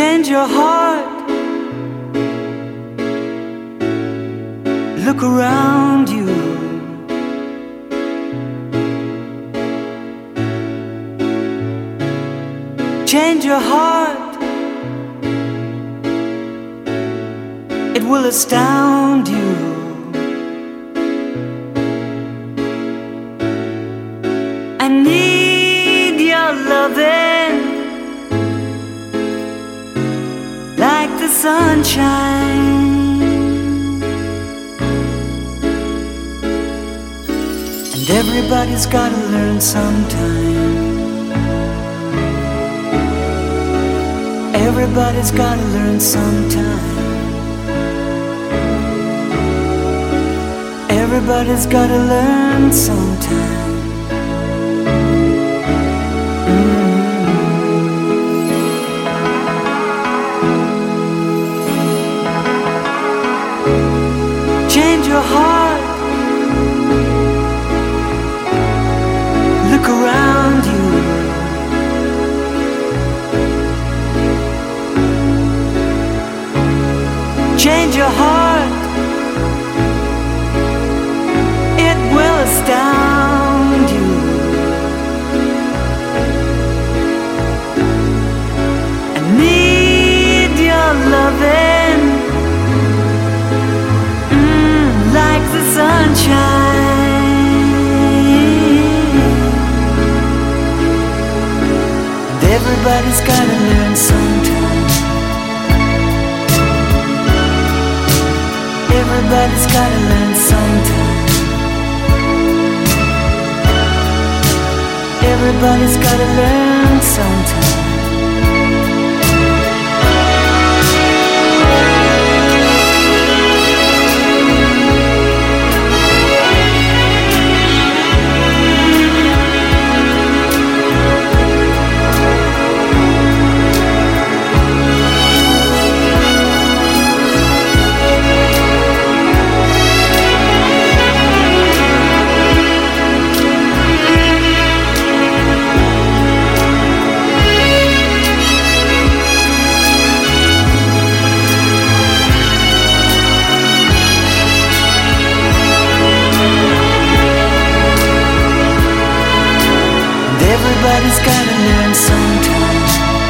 change your heart. Look around you. Change your heart. It will astound you. I need your loving like the sunshine. And everybody's gotta learn sometime. Everybody's gotta learn sometime. Everybody's gotta learn sometime. Change your heart. Look around you. Change your heart. It will astound you. I need your loving like the sunshine. And everybody's gotta learn sometime. Everybody's gotta learn sometime. Everybody's gotta learn sometime. Everybody's gotta learn sometime.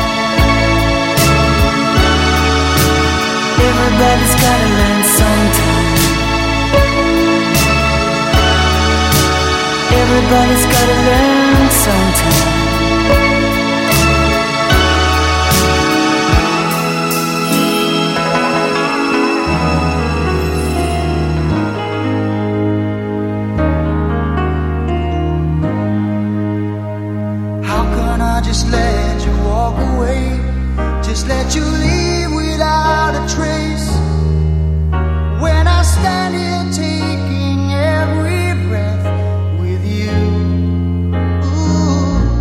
Everybody's gotta learn sometime. Everybody's gotta learn sometime. Just let you walk away. Just let you leave without a trace. When I stand here taking every breath with you. Ooh.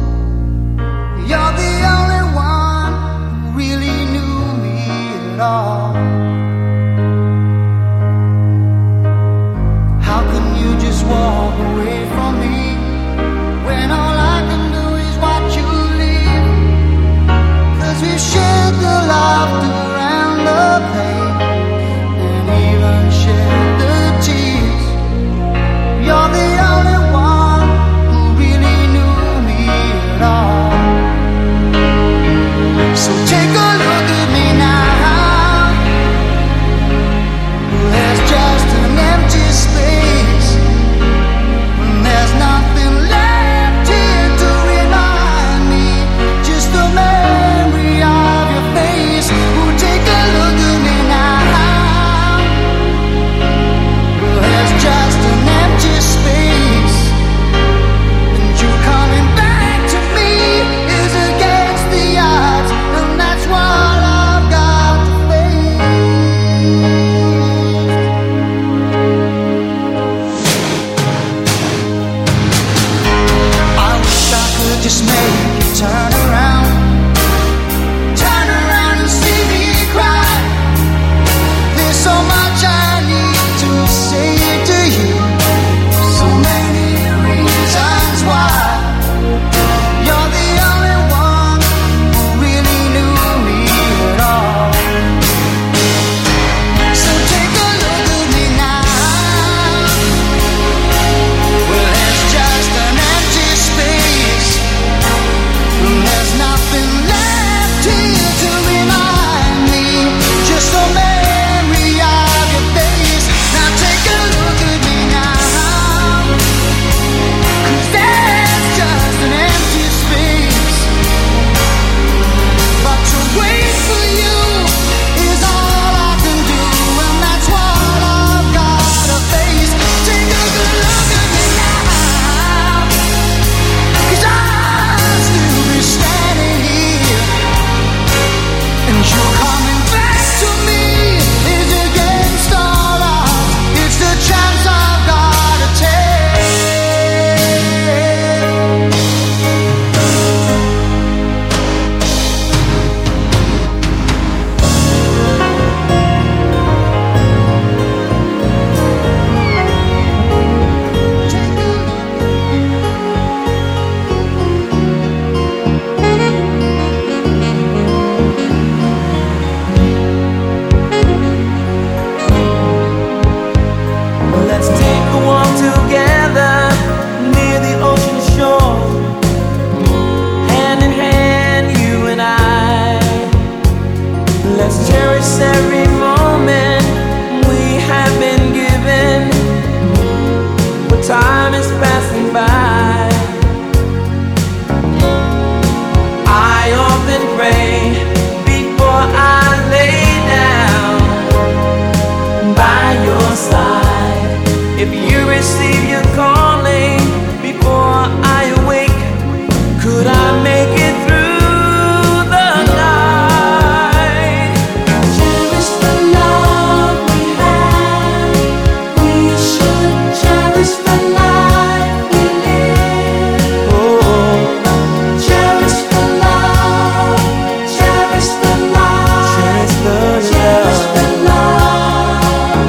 receive your calling before I awake. Could I make it through the night? Cherish the love we have. We should cherish the life we live. Oh, Cherish the love. Cherish the love. cherish the Cherish love. the love.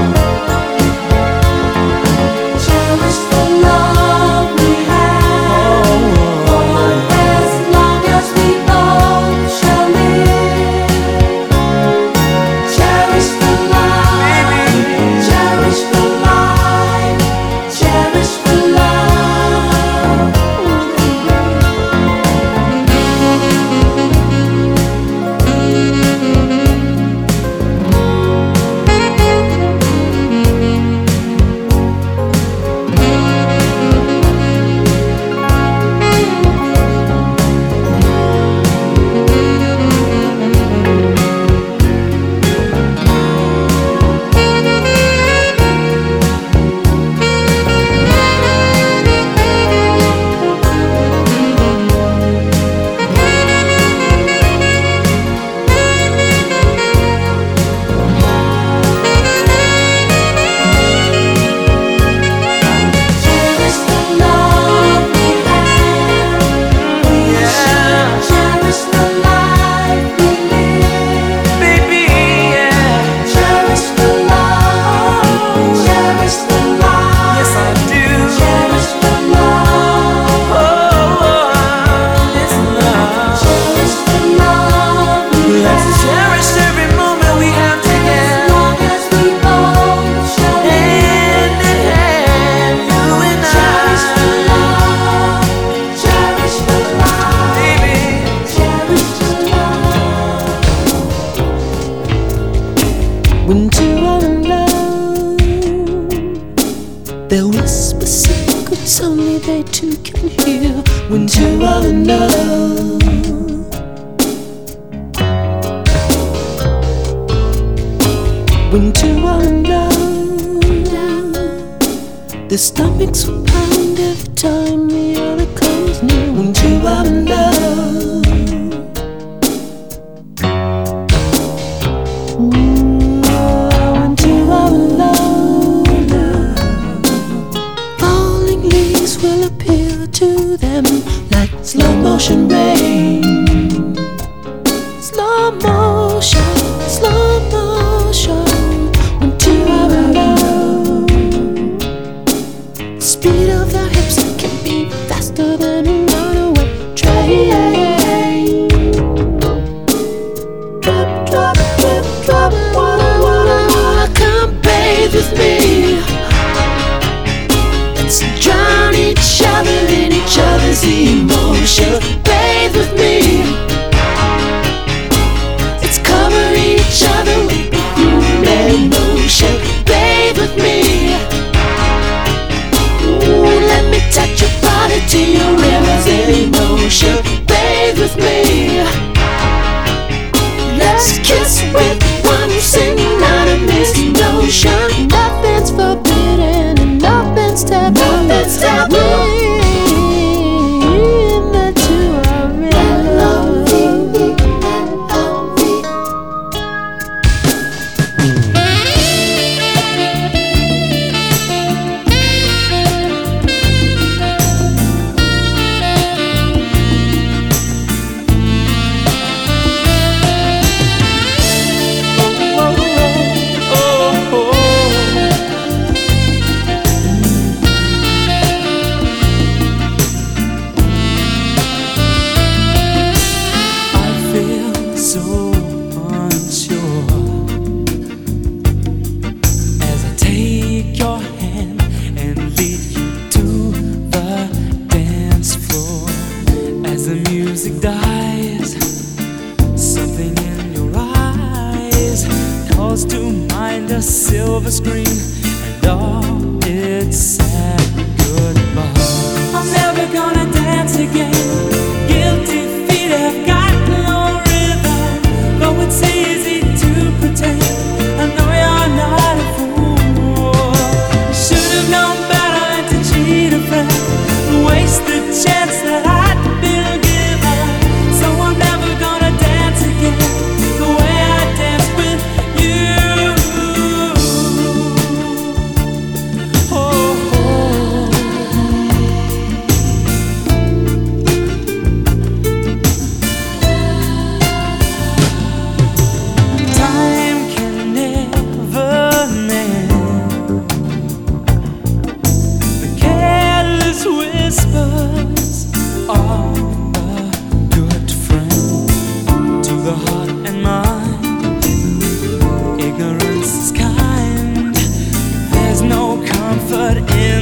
Cherish the love we have. For as long as we both shall live. Cherish the life. Cherish the life. Cherish the love. Cherish the love we have. We should cherish the life we live. Baby, yeah. Cherish the love. Cherish the life. Yes, I do. Cherish the love. Oh, this love. Cherish the love we Let's have. cherish every moment we have As together. long as we both shall live. Hand in hand, you and Cherish the I. love. Cherish the life. Baby, Cherish the love. When two are in love, they'll whisper secrets only they two can hear. When two are in love, when two are in love, their stomachs will pound every time the other comes near. When two are in love, when two are in love, falling leaves will appear to them like slow motion rain. Slow motion, slow motion. When two are in love, the speed of their hips can be faster than a runaway train. Drop, drop, drip, drop. Wanna come bathe with me? Let's drown each other in each other's emotion. Bathe with me. Let's cover each other with perfume and lotion. Bathe with me. Ooh, let me touch your body till your rivers in emotion. Bathe with me. Let's kiss with one synonymous notion. Nothing's forbidden and nothing's taboo. Nothing's taboo. When the two are in love. oh, oh.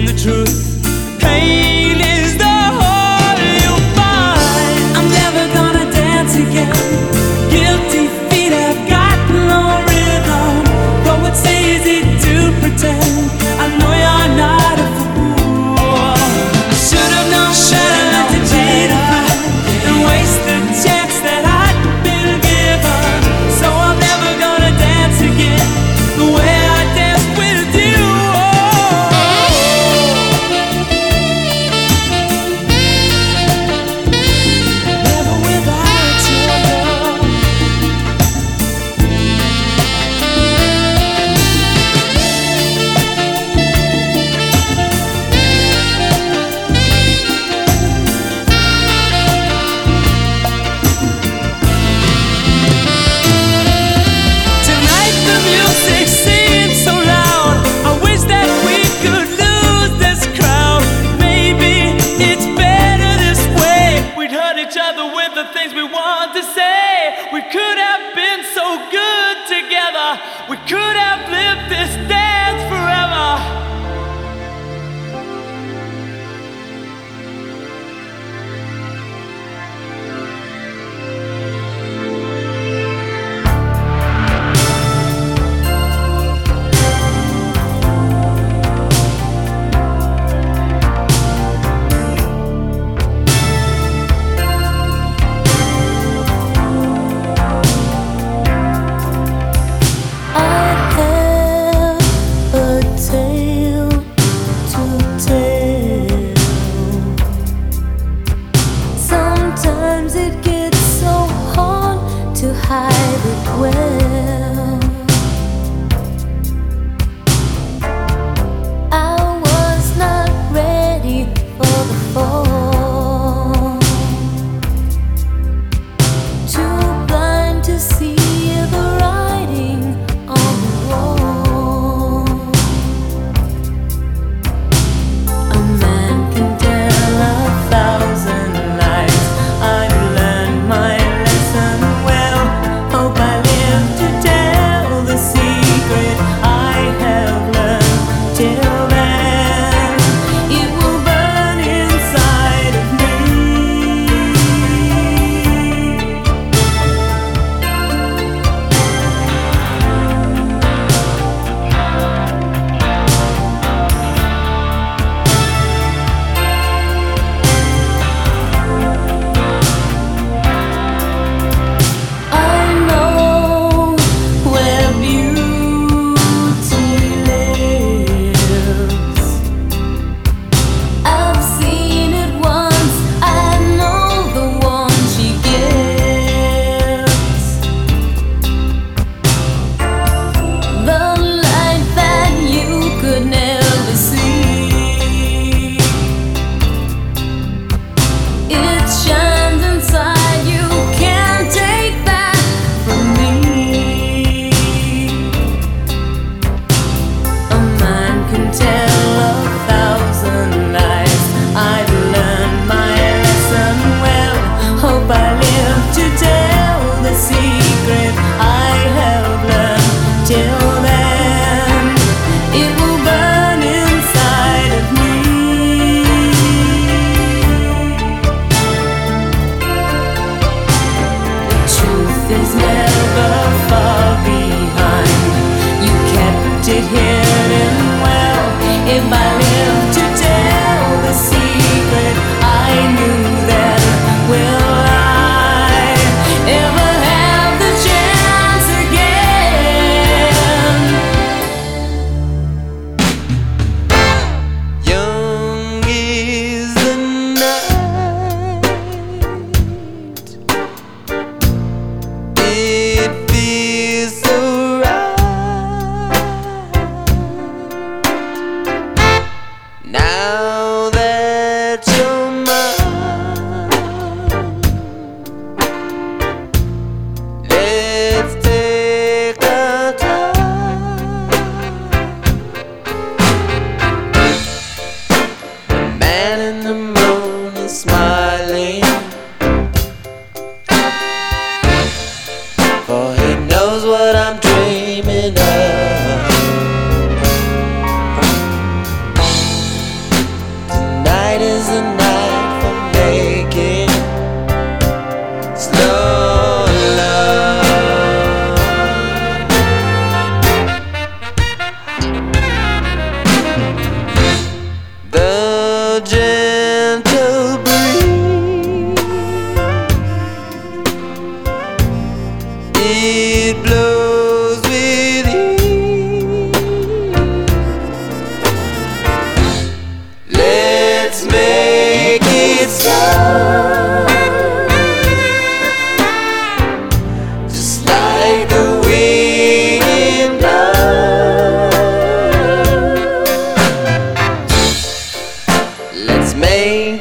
the truth. Pain is the whole you'll find. I'm never gonna dance again. Guilty feet have got no rhythm. Though it's easy to pretend, I know you're not a fool. I should have known better than to cheat and waste the chance that I'd been given. So I'm never gonna dance again the way I danced with you. Never without you, girl. Tonight the music seems so loud. I wish that we could lose this crowd. Maybe it's better this way. We'd hurt each other with the things we want to say. We could have been so good together. We could have lived this dance forever. I have a tale to tell. Sometimes it gets so hard to hide it well. I was not ready for the fall. Too blind to see the writing on the wall. A man can tell 1,000 lies. I've learned my lesson well. Hope I live to tell the secret I have learned. Till then, it will burn inside of me. I know where beauty lives. I've seen it once. I know the one she gives. The light that you could never see. It shines inside you, can't take that from me. A man can tell 1,000 lies. I've learned my lesson well. Hope I live to tell the secret I have learned. Till then, it will burn inside of me. The truth is never far behind. You kept it hidden well. If I live to tell the secret I knew then, will I ever have the chance again? Young is the night. It feels so right. Now that you're mine, let's take our time. The man in the moon is smiling, for he knows what I'm dreaming of.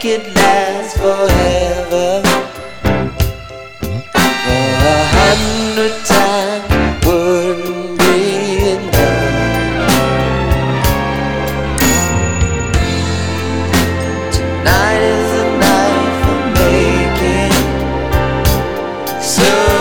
it last forever. For 100 times wouldn't be enough. Tonight is the night for making some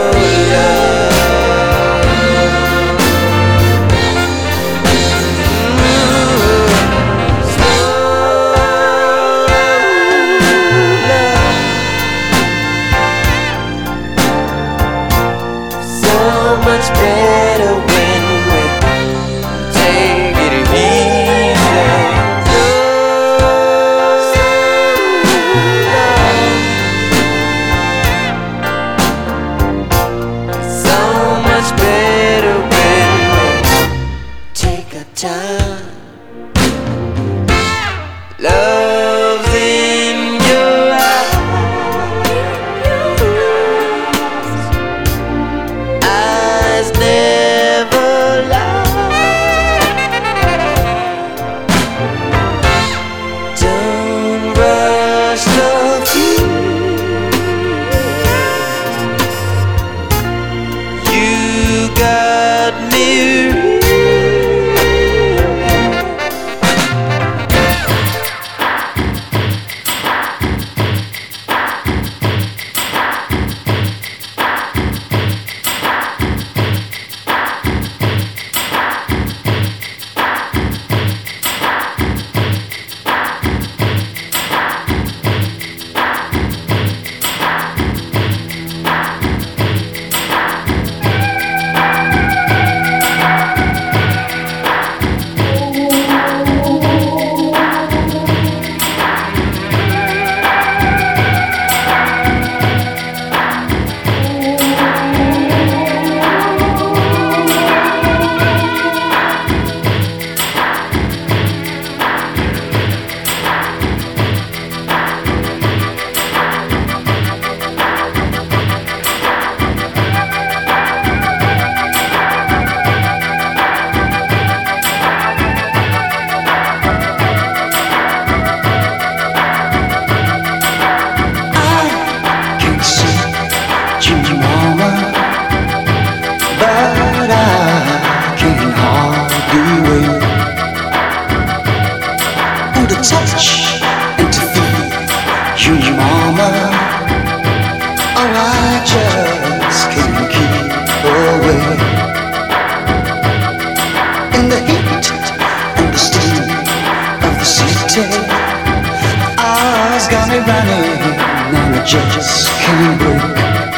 just can't break.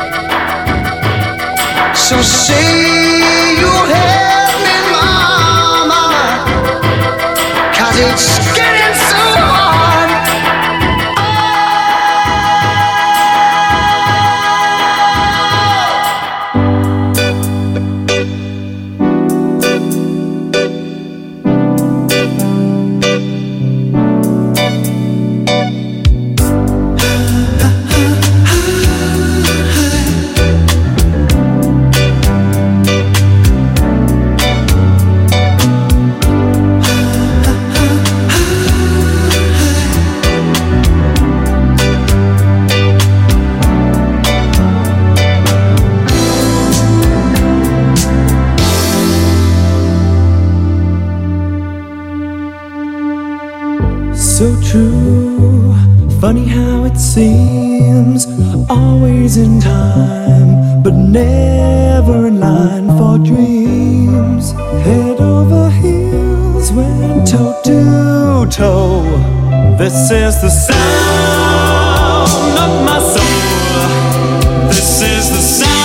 So say you'll help me, mama, 'cause it's getting so hard. So true, funny how it seems, always in time, but never in line for dreams. Head over heels, went toe to toe. This is the sound of my soul. This is the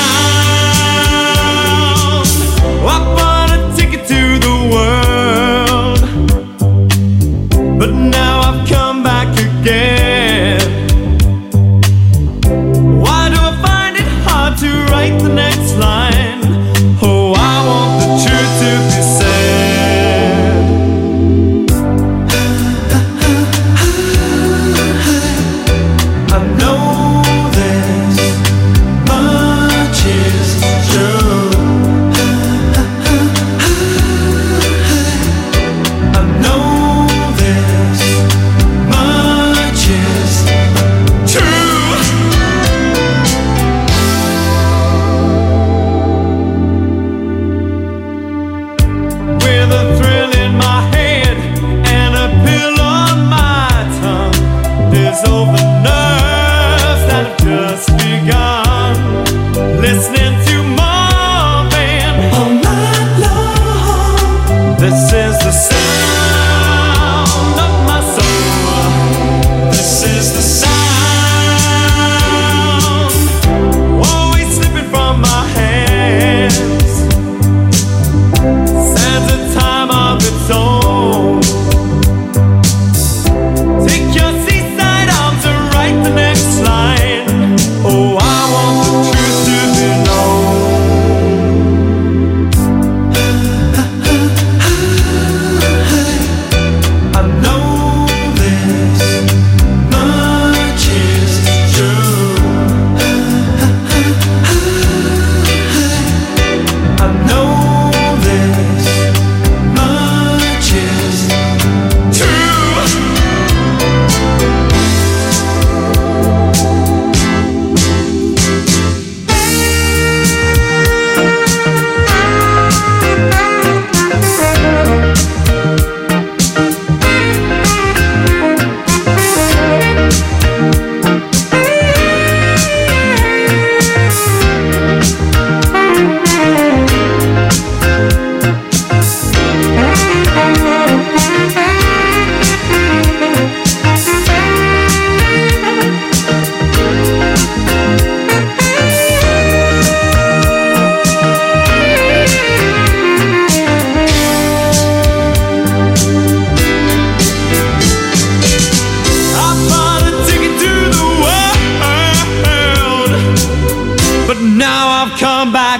sound. I bought a ticket to the world, but now I've come back again. Why do I find it hard to write the next line? Oh, I want the truth to be said. I know this much.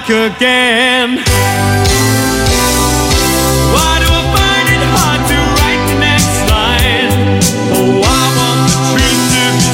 back again. Why do I find it hard to write the next line? Oh, I want the truth to be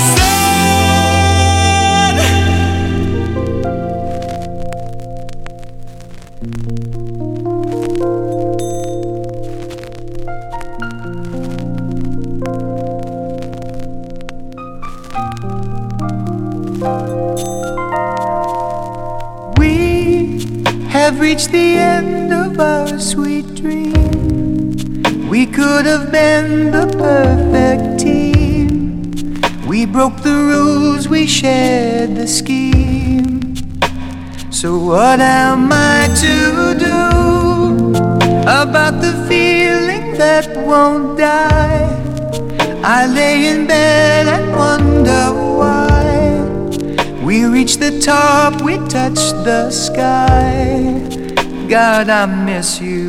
Have reached the end of our sweet dream. We could have been the perfect team. We broke the rules, we shared the scheme. So what am I to do about the feeling that won't die? I lay in bed and wonder why. We reached the top, we touched the sky. God, I miss you.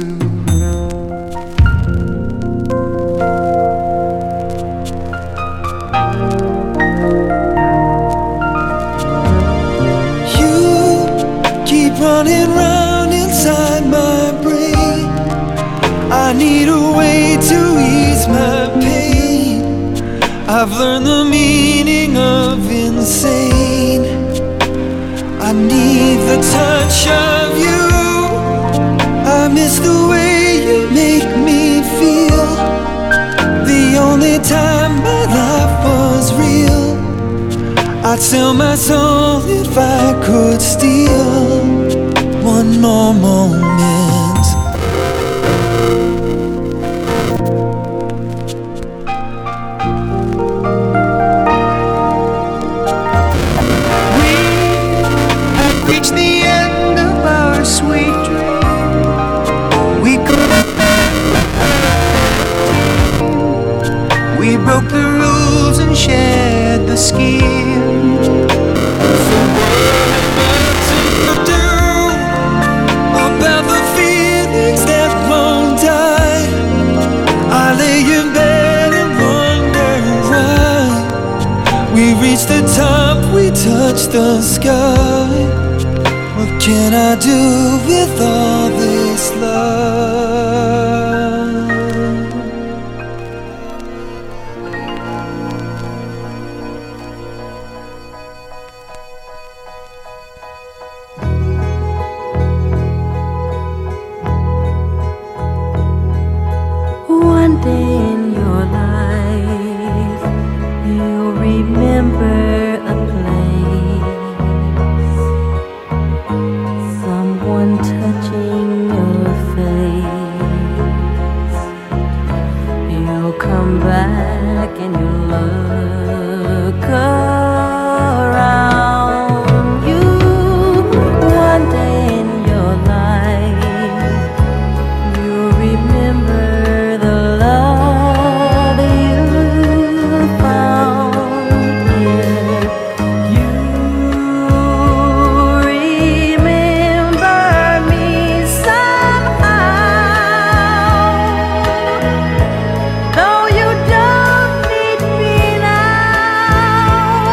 You keep running round inside my brain. I need a way to ease my pain. I've learned the meaning of insane. I need the touch of you. I miss the way you make me feel. The only time my life was real. I'd sell my soul if I could steal one more moment. Reached the end of our sweet dream. We could have been. We broke the rules and shared the scheme. So what am I to do about the feelings that won't die? I lay in bed and wonder why. We reached the top, we touched the sky. What can I do with all this love? One day in your life, you'll remember a place, someone touching your face. You'll come back and you'll look around you. One day in your life, you'll remember the love you found here. You remember me somehow, though you don't need me now.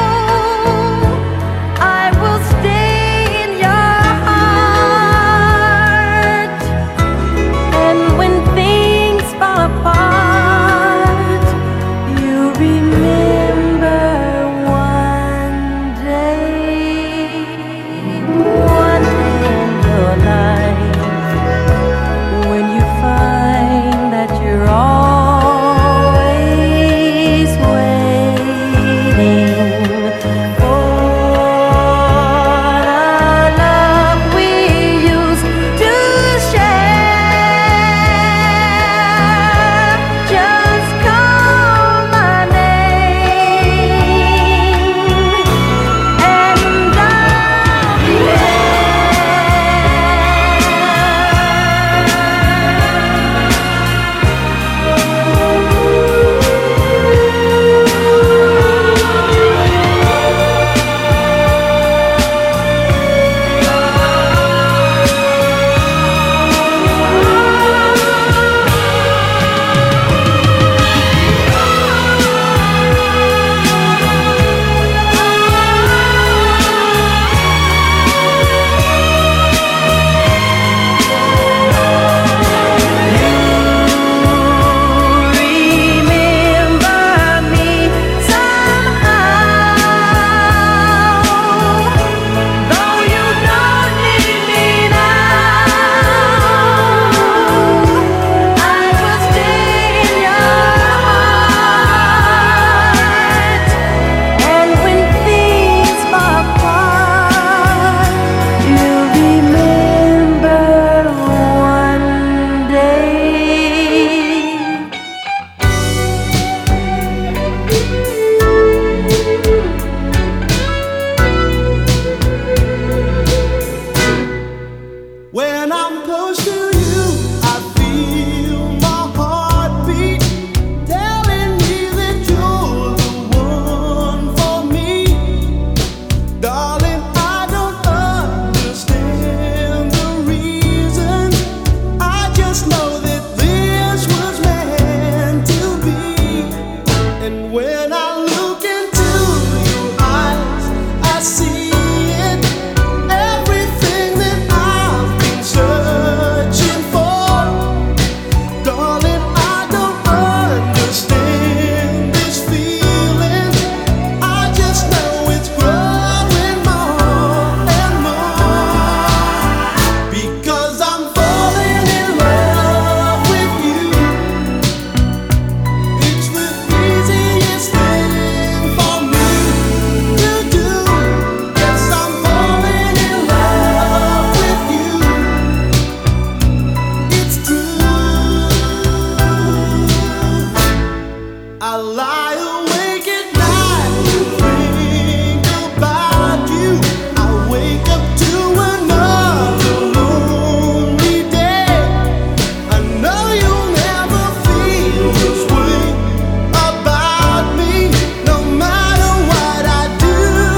I lie awake at night to think about you. I wake up to another lonely day. I know you'll never feel this way about me, no matter what I do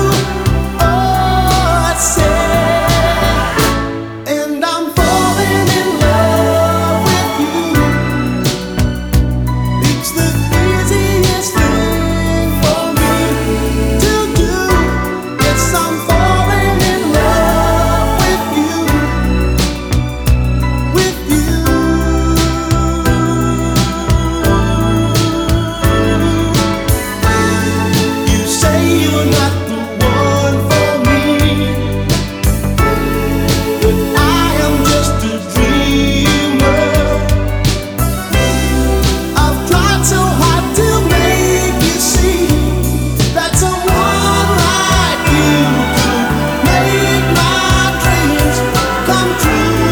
or say. And I'm falling in love with you. It's the easiest thing for me to do. Yes, I'm falling in love with you, with you. You say you're not the one for me, but I am just a dreamer. I've tried so hard to make you see that someone like you could make my dreams come true.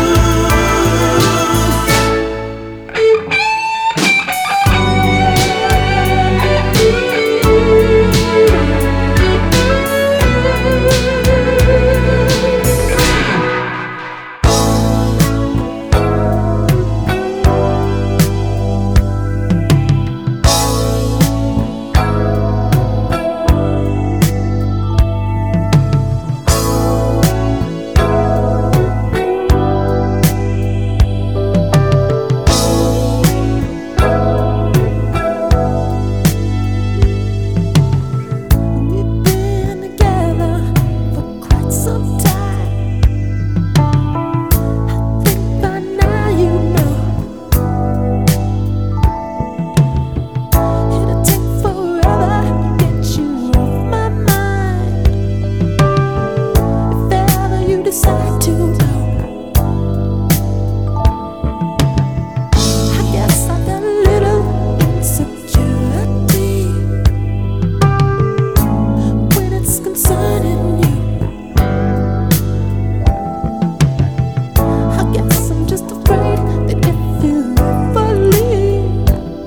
We've been together for quite some time. I think by now you know it'll take forever to get you off my mind. If ever you decide to go, I guess I got a little insecurity when it's concerning you. I guess I'm just afraid that if you ever leave,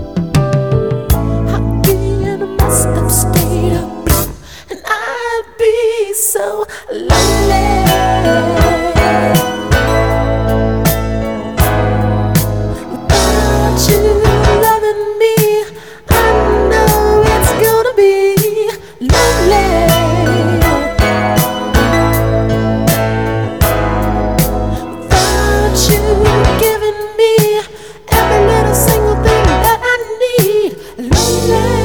I'd be in a messed up state of blue, and I'd be so lonely. Without you loving me, I know it's gonna be lonely. Without you giving me every little single thing that I need, lonely.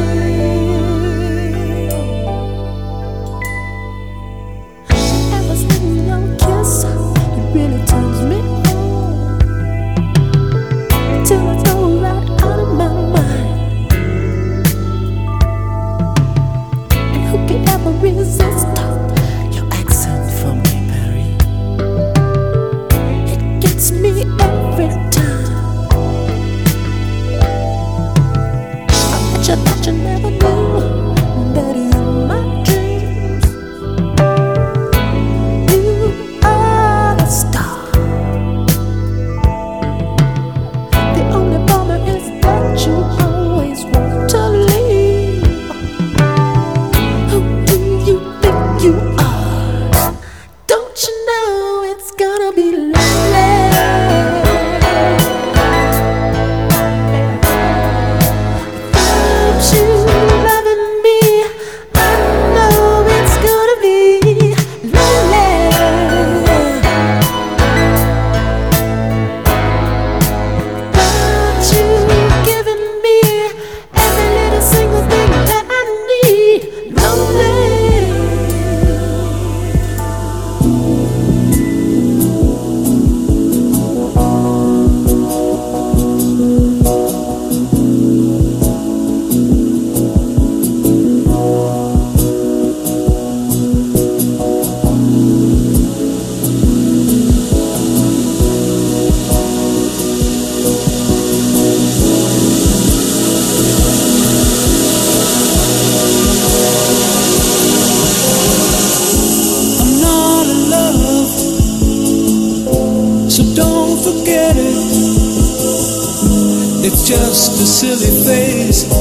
Ever since your kiss, it really turns me on, till I go right out of my mind. And who could ever resist your accent from Paris? It gets me every time. I bet you that you never knew that in my dreams you are the star. The only bummer is that you always want to leave. Who do you think you are? Don't you know it's gonna be lonely? Without you loving me, I know it's gonna be lonely. Without you giving me every little single thing that I need, lonely. It's just a silly phase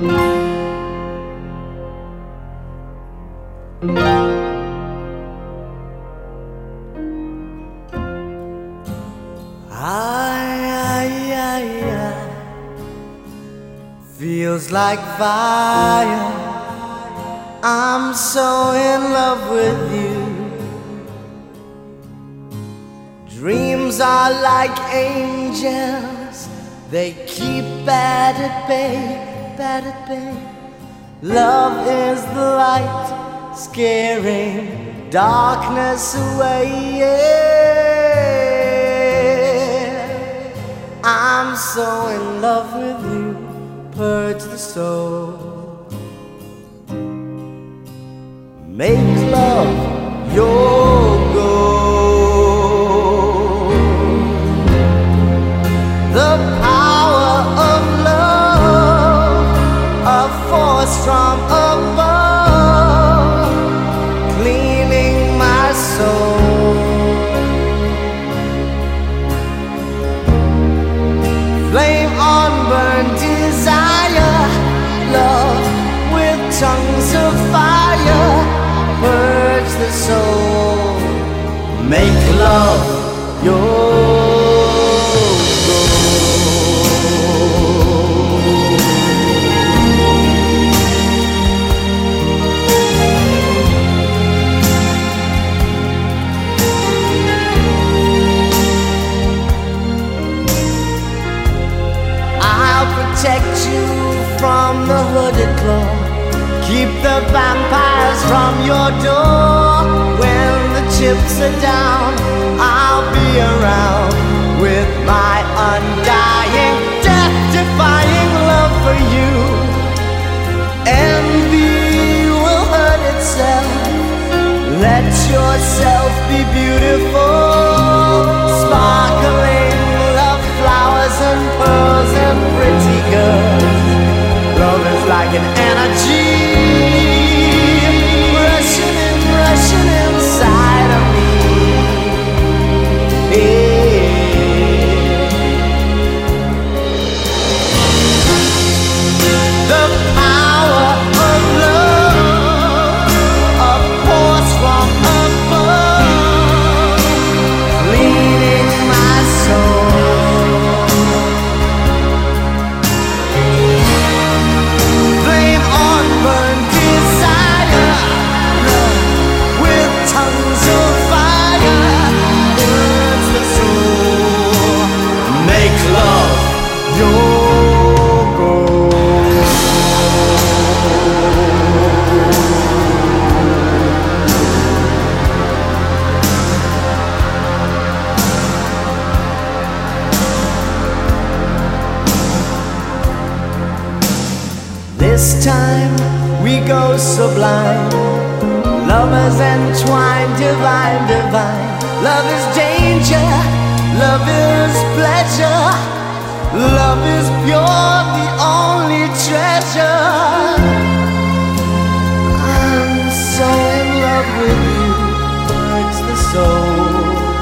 Feels like fire. I'm so in love with you. Dreams are like angels. They keep bad at bay, bad at bay. Love is the light, scaring darkness away. Yeah. I'm so in love with you. Purge the soul. Make love your goal. The power of love, a force from above, cleaning my soul. Flame on burn desire, love with tongues of fire, purge the soul, make love your protect you from the hooded claw. Keep the vampires from your door. When the chips are down, I'll be around with my undying, death-defying love for you. Envy will hurt itself. Let yourself be beautiful, sparkling love flowers and pearls and pretty girls. Love is like an energy rushing inside of me. The power of love, a force from above, leading my soul. Flame on burn desire, love with tongues of fire, burns the soul. Make love your goal. This time we go sublime, lovers entwined, divine, divine. Love is danger, love is pleasure, love is pure, the only treasure. I'm so in love with you, hurts the soul.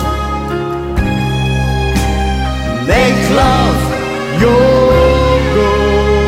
Make love your goal.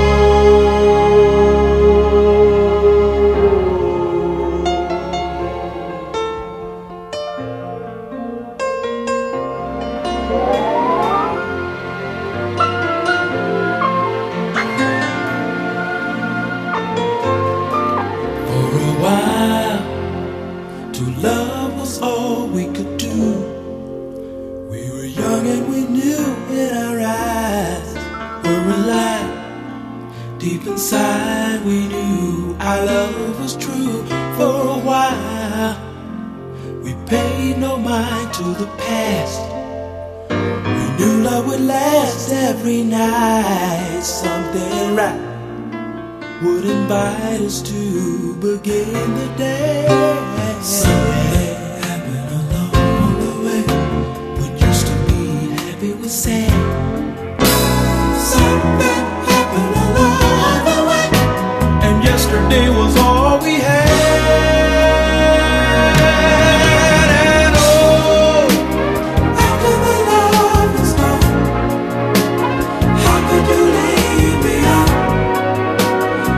For a while, to love was all we could do. We were young and we knew in our eyes were alive. Deep inside we knew our love was true. For a while, we paid no mind to the past. We knew love would last every night. Something right would invite us to begin the day. Something happened along the way. What used to be happy was sad. Something happened along the way, and yesterday was all we had. And oh, after the love is gone, how could you leave me on?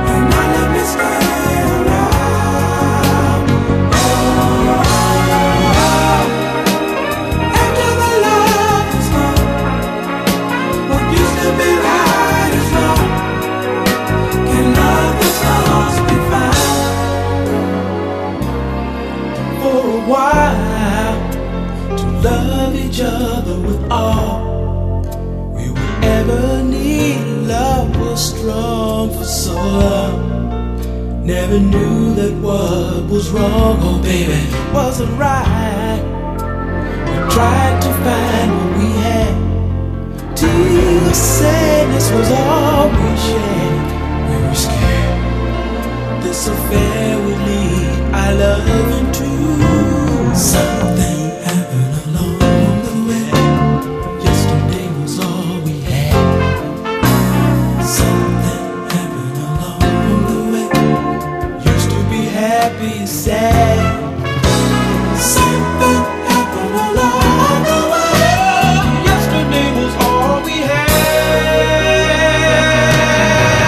for so long. Never knew that what was wrong, oh baby, wasn't right. We tried to find what we had, till the sadness was all we shared. We were scared this affair would lead our love into something happened along the way. Yesterday was all we had. Something happened along the way. Used to be happy and sad. Something happened along the way. Yesterday was all we had.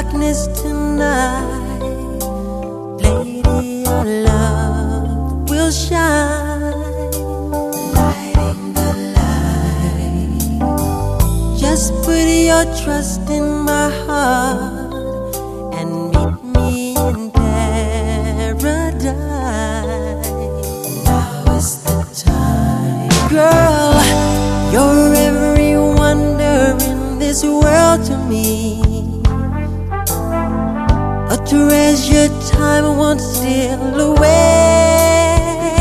darkness tonight, lady, your love will shine, lighting the light. Just put your trust in my heart and meet me in paradise. Now is the time, girl. You're every wonder in this world to me, a treasure time won't steal away.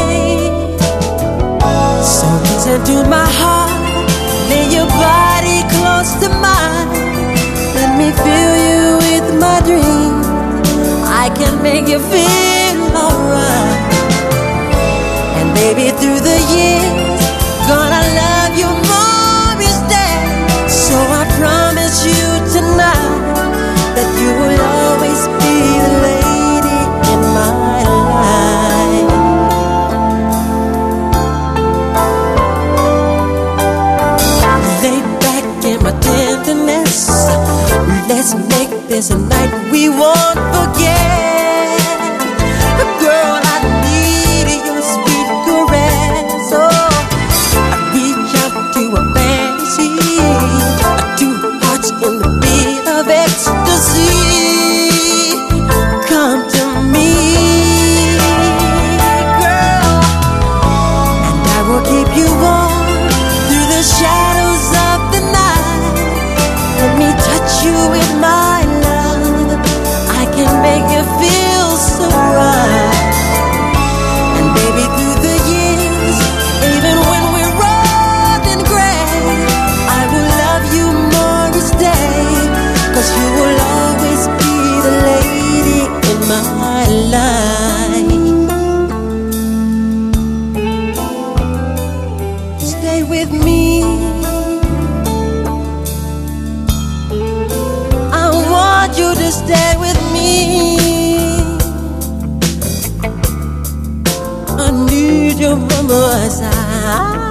So listen to my heart, lay your body close to mine. Let me fill you with my dreams. I can make you feel alright. And baby, through the years, gonna love you more each day. So I promise you tonight that you will always be the lady in my life. Lay back in my tenderness, let's make this a night we won't forget. Girl, I need your sweet caress. Oh, I reach out to a fantasy, two hearts in the beat of ecstasy. Come to me, girl, and I will keep you warm through the shadows of the night. Let me touch you with my love. I can make you feel so right. And baby, through the years, even when we're old and gray, I will love you more each day, 'cause you will always be the lady in my life. Stay with me, I want you to stay with me. I need you by my side.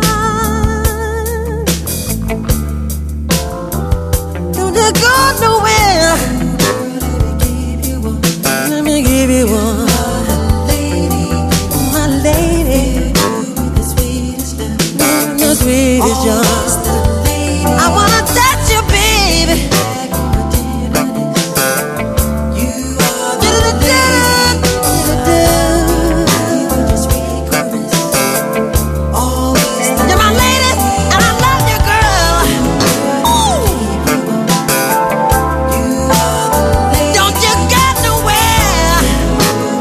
Don't you go nowhere. Let me give you one, my lady, the sweetest young. I wanna touch you, baby. You're my lady, and I love you, girl. Don't you go nowhere.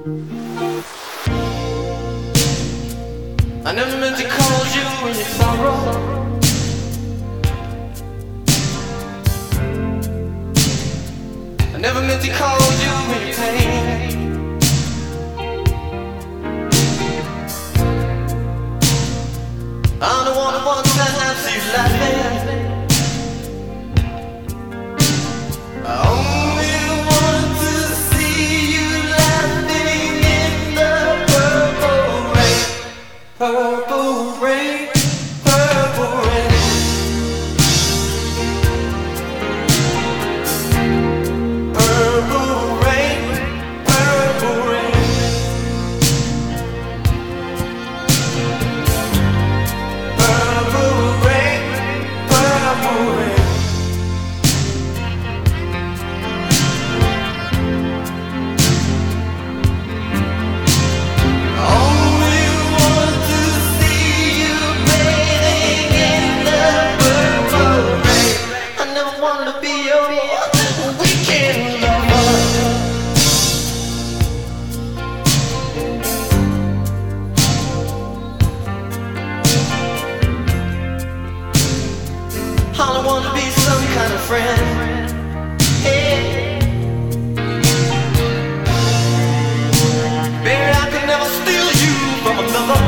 I never meant to cause you any sorrow. I never meant to cause you any pain. I'm the one who wants to see you laughing. I only want to see you laughing in the purple rain. Purple rain, purple rain. Purple rain, purple rain. Purple rain, purple rain. Only want to see you bathing in the purple rain. I never wanted to be your weekend lover. All I want to be some kind of friend. Hey. Baby, I could never steal you from another.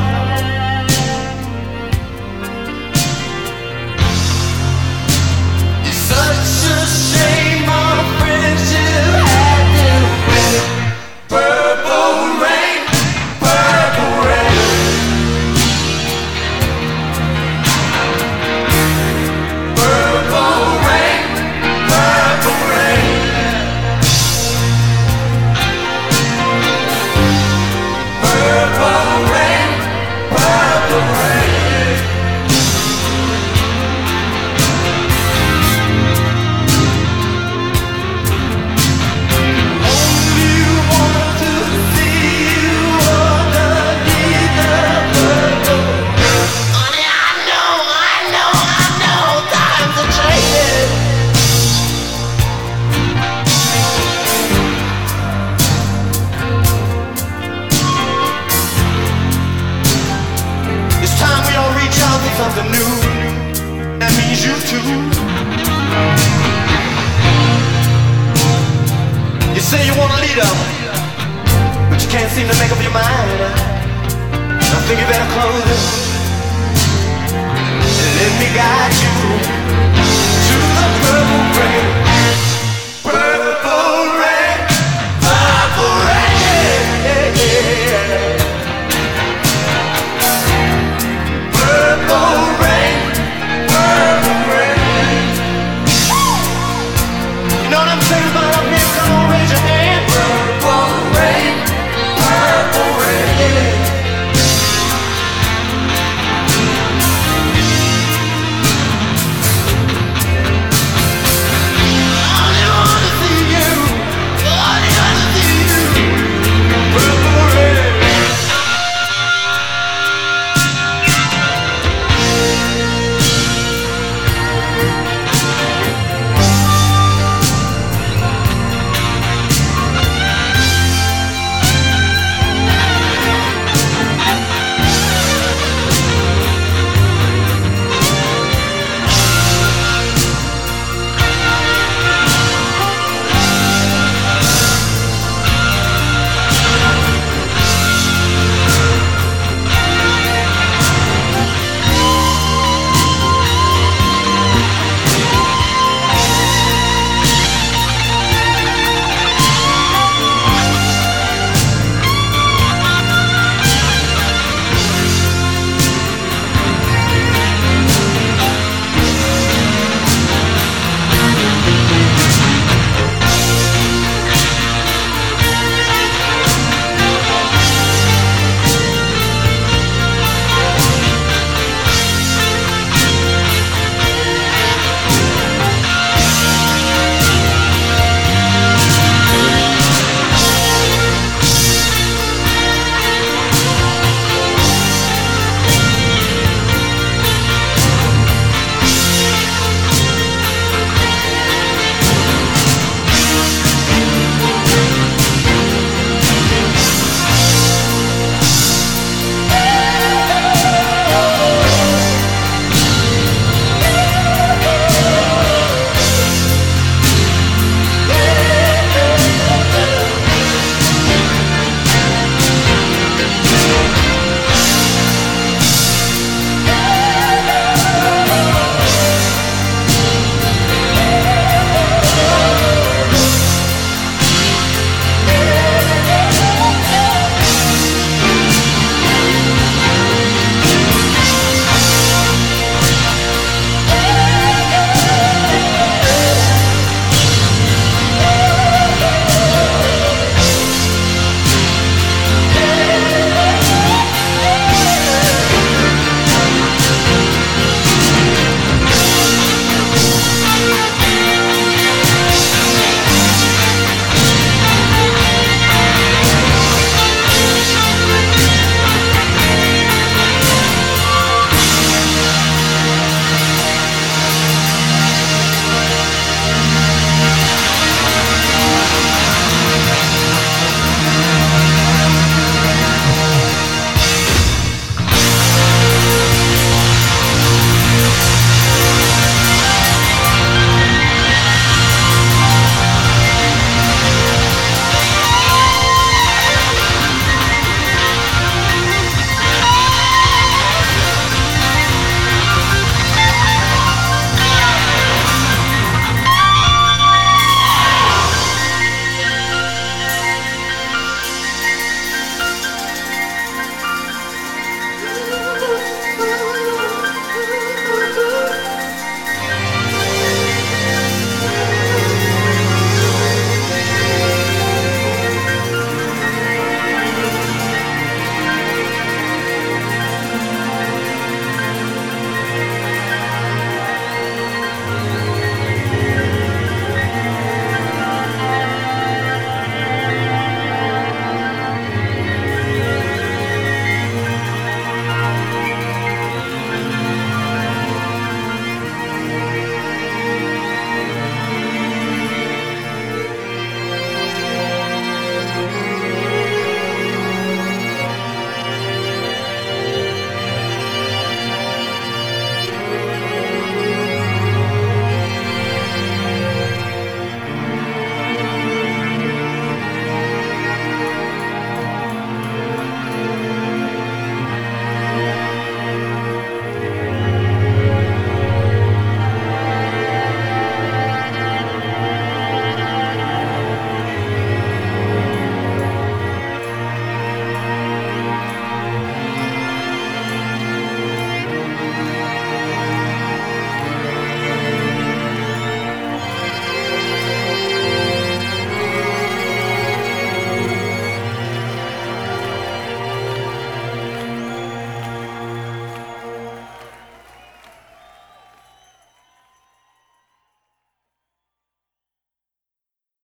It's such a shame our friendship had to end. Purple rain, purple rain. Purple rain, purple rain. Purple rain, purple rain. Only want to see you underneath the purple rain. Honey, I know, times are changing. It's time we all reach out for something new. That means you too. You say you want a leader, but you can't seem to make up your mind. I think you better close it and let me guide you to the purple rain.